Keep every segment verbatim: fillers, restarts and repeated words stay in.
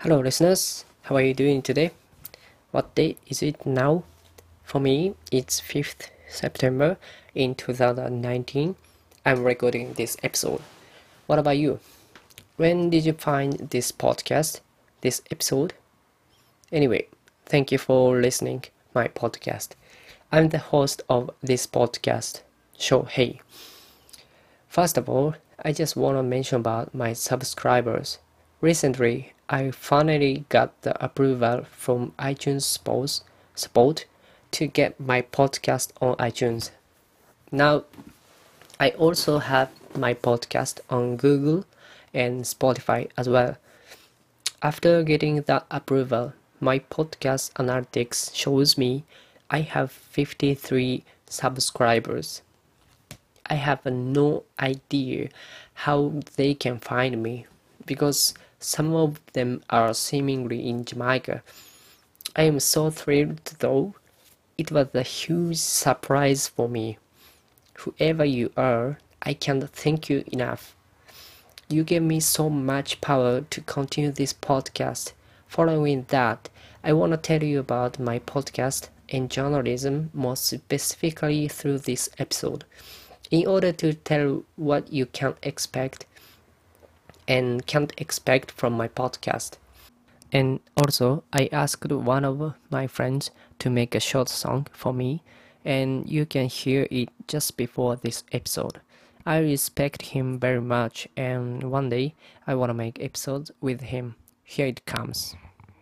Hello, listeners. How are you doing today? What day is it now? For me, it's fifth September in two thousand nineteen. I'm recording this episode. What about you? When did you find this podcast, this episode? Anyway, thank you for listening my podcast. I'm the host of this podcast, Shohei. First of all, I just want to mention about my subscribers. Recently, I finally got the approval from iTunes support, support to get my podcast on iTunes. Now, I also have my podcast on Google and Spotify as well. After getting that approval, my podcast analytics shows me I have fifty-three subscribers. I have no idea how they can find me because some of them are seemingly in Jamaica. I am so thrilled though. It was a huge surprise for me. Whoever you are, I can't thank you enough. You gave me so much power to continue this podcast. Following that, I want to tell you about my podcast and journalism more specifically through this episode. In order to tell what you can expect and can't expect from my podcast. And also, I asked one of my friends to make a short song for me, and you can hear it just before this episode. I respect him very much, and one day I want to make episodes with him. Here it comes.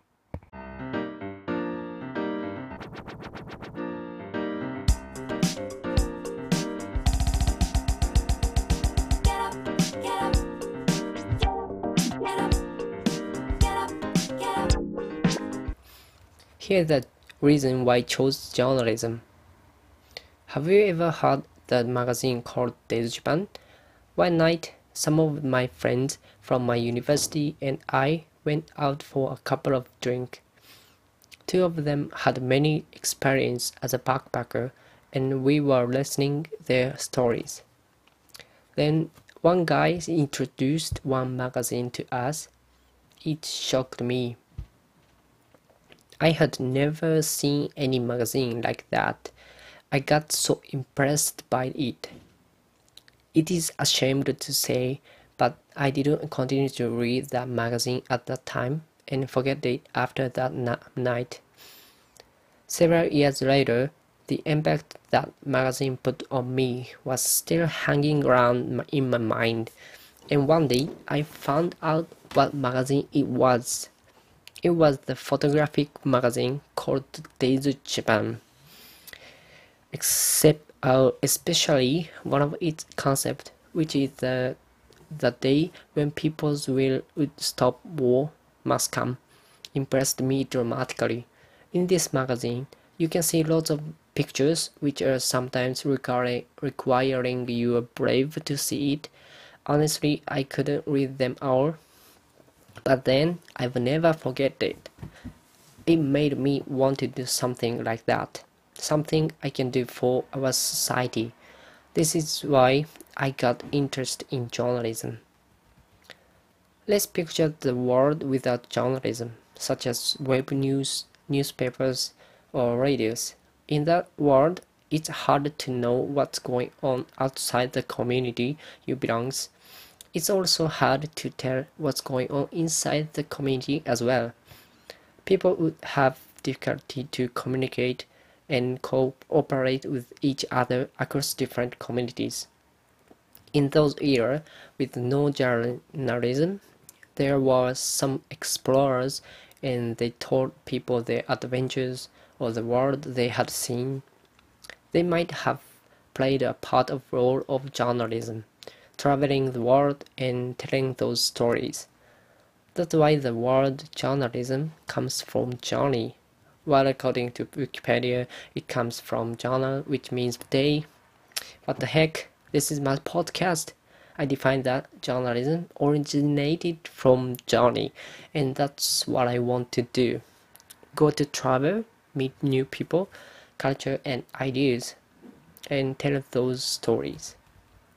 Here's the reason why I chose journalism. Have you ever heard the magazine called Days Japan? One night, some of my friends from my university and I went out for a couple of drinks. Two of them had many experience as a backpacker, and we were listening their stories. Then one guy introduced one magazine to us. It shocked me. I had never seen any magazine like that. I got so impressed by it. It is a shame to say, but I didn't continue to read that magazine at that time and forget it after that na- night. Several years later, the impact that magazine put on me was still hanging around in my mind, and one day I found out what magazine it was. It was the photographic magazine called Days Japan. Except, uh, especially one of its concept, which is the the day when people's will would stop war must come, impressed me dramatically. In this magazine, you can see lots of pictures which are sometimes require, requiring you are brave to see it. Honestly, I couldn't read them all. But then I will never forget it. It made me want to do something like that. Something I can do for our society. This is why I got interested in journalism. Let's picture the world without journalism, such as web news, newspapers, or radios. In that world, it's hard to know what's going on outside the community you belong to. It's also hard to tell what's going on inside the community as well. People would have difficulty to communicate and cooperate with each other across different communities. In those years, with no journalism, there were some explorers and they told people their adventures or the world they had seen. They might have played a part of role of journalism, traveling the world and telling those stories. That's why the word journalism comes from journey, while according to Wikipedia, it comes from journal, which means day. What the heck? This is my podcast. I define that journalism originated from journey, and that's what I want to do. Go to travel, meet new people, culture, and ideas, and tell those stories.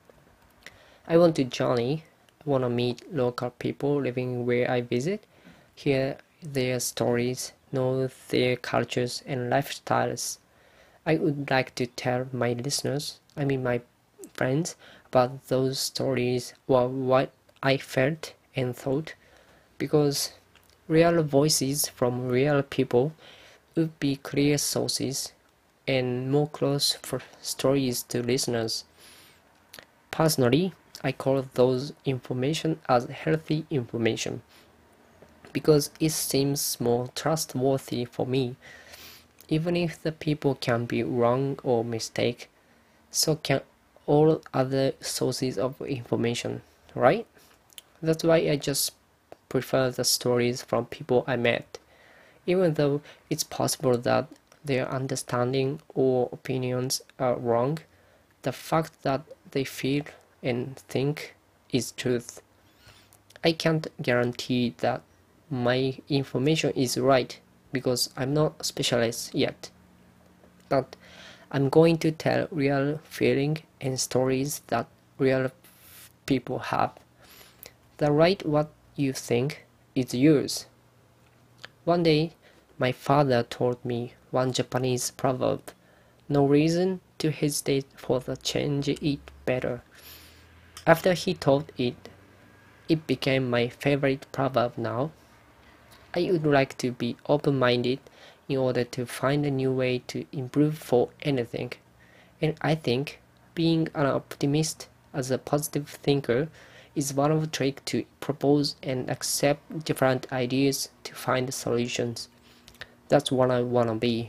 I want to journey, I want to meet local people living where I visit, hear their stories, know their cultures and lifestyles. I would like to tell my listeners, I mean my friends, about those stories or what I felt and thought, because real voices from real people would be clear sources and more close for stories to listeners. Personally, I call those information as healthy information because it seems more trustworthy for me, even if the people can be wrong or mistake, so can all other sources of information, right? That's why I just prefer the stories from people I met, even though it's possible that their understanding or opinions are wrong. The fact that they feel and think is truth. I can't guarantee that my information is right because I'm not a specialist yet. But I'm going to tell real feeling and stories that real people have. The right what you think is yours. One day, my father told me one Japanese proverb, no reason to hesitate for the change it better. After he told it, it became my favorite proverb now. I would like to be open-minded in order to find a new way to improve for anything. And I think being an optimist as a positive thinker is one of the tricks to propose and accept different ideas to find solutions. That's what I want to be.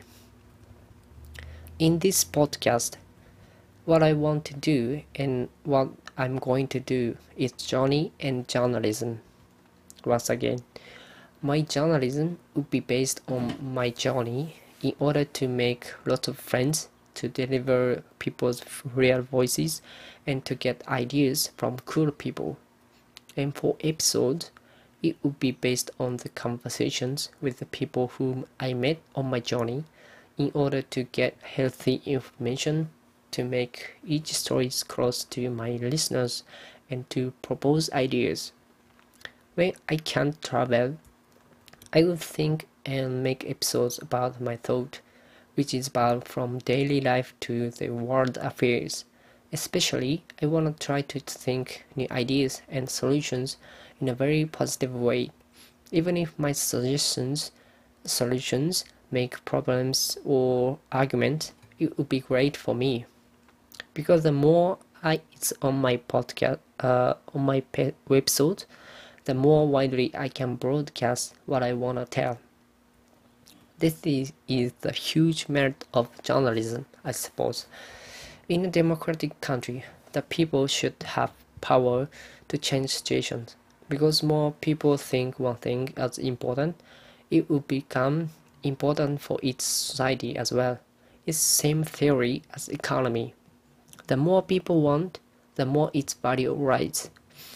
In this podcast, what I want to do and what I'm going to do is journey and journalism. Once again, my journalism would be based on my journey in order to make lots of friends, to deliver people's real voices, and to get ideas from cool people. And for episodes, it would be based on the conversations with the people whom I met on my journey in order to get healthy information to make each story close to my listeners and to propose ideas. When I can't travel, I would think and make episodes about my thought, which is about from daily life to the world affairs. Especially, I want to try to think new ideas and solutions in a very positive way, even if my suggestions solutions make problems or arguments. It would be great for me because the more I it's on my podcast uh, on my pe- website, the more widely I can broadcast what I want to tell. This is, is the huge merit of journalism, I suppose. In a democratic country, the people should have power to change situations. Because more people think one thing as important, it will become important for its society as well. It's same theory as economy. The more people want, the more its value rises.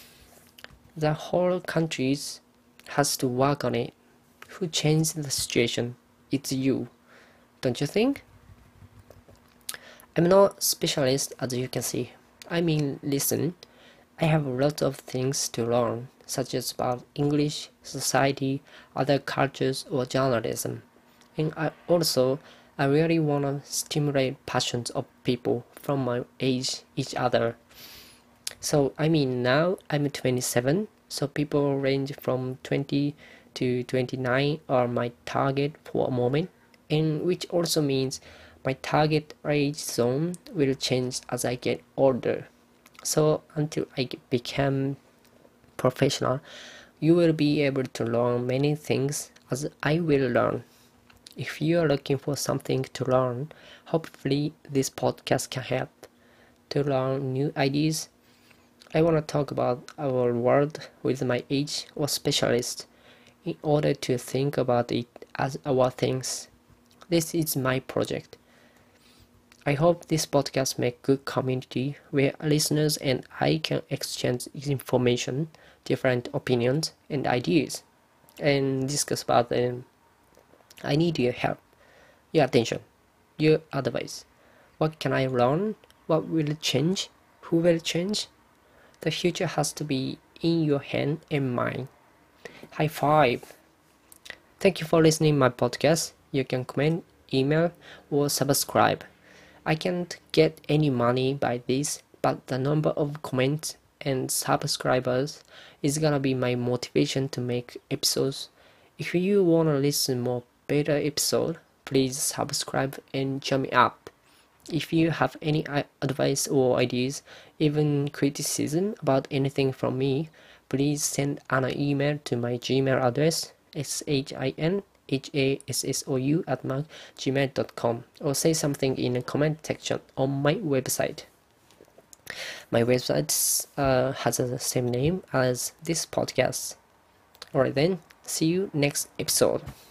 The whole country has to work on it. Who changed the situation? It's you, don't you think? I'm not a specialist as you can see. I mean, listen, I have a lot of things to learn, such as about English, society, other cultures, or journalism. And I also, I really want to stimulate passions of people from my age, each other. So, I mean, now I'm twenty-seven, so people range from twenty to twenty-nine are my target for a moment, and which also means my target age zone will change as I get older. So until I become professional, you will be able to learn many things as I will learn. If you are looking for something to learn, hopefully this podcast can help to learn new ideas. I want to talk about our world with my age or specialist in order to think about it as our things. This is my project. I hope this podcast make good community where listeners and I can exchange information, different opinions and ideas, and discuss about them. I need your help, your attention, your advice. What can I learn? What will change? Who will change? The future has to be in your hand and mine. High five! Thank you for listening my podcast. You can comment, email, or subscribe. I can't get any money by this, but the number of comments and subscribers is gonna be my motivation to make episodes. If you wanna listen more better episode, please subscribe and cheer me up. If you have any advice or ideas, even criticism about anything from me, please send an email to my Gmail address, s h i n h a s s o u at gmail dot com, or say something in the comment section on my website. My website uh, has the same name as this podcast. Alright then, see you next episode.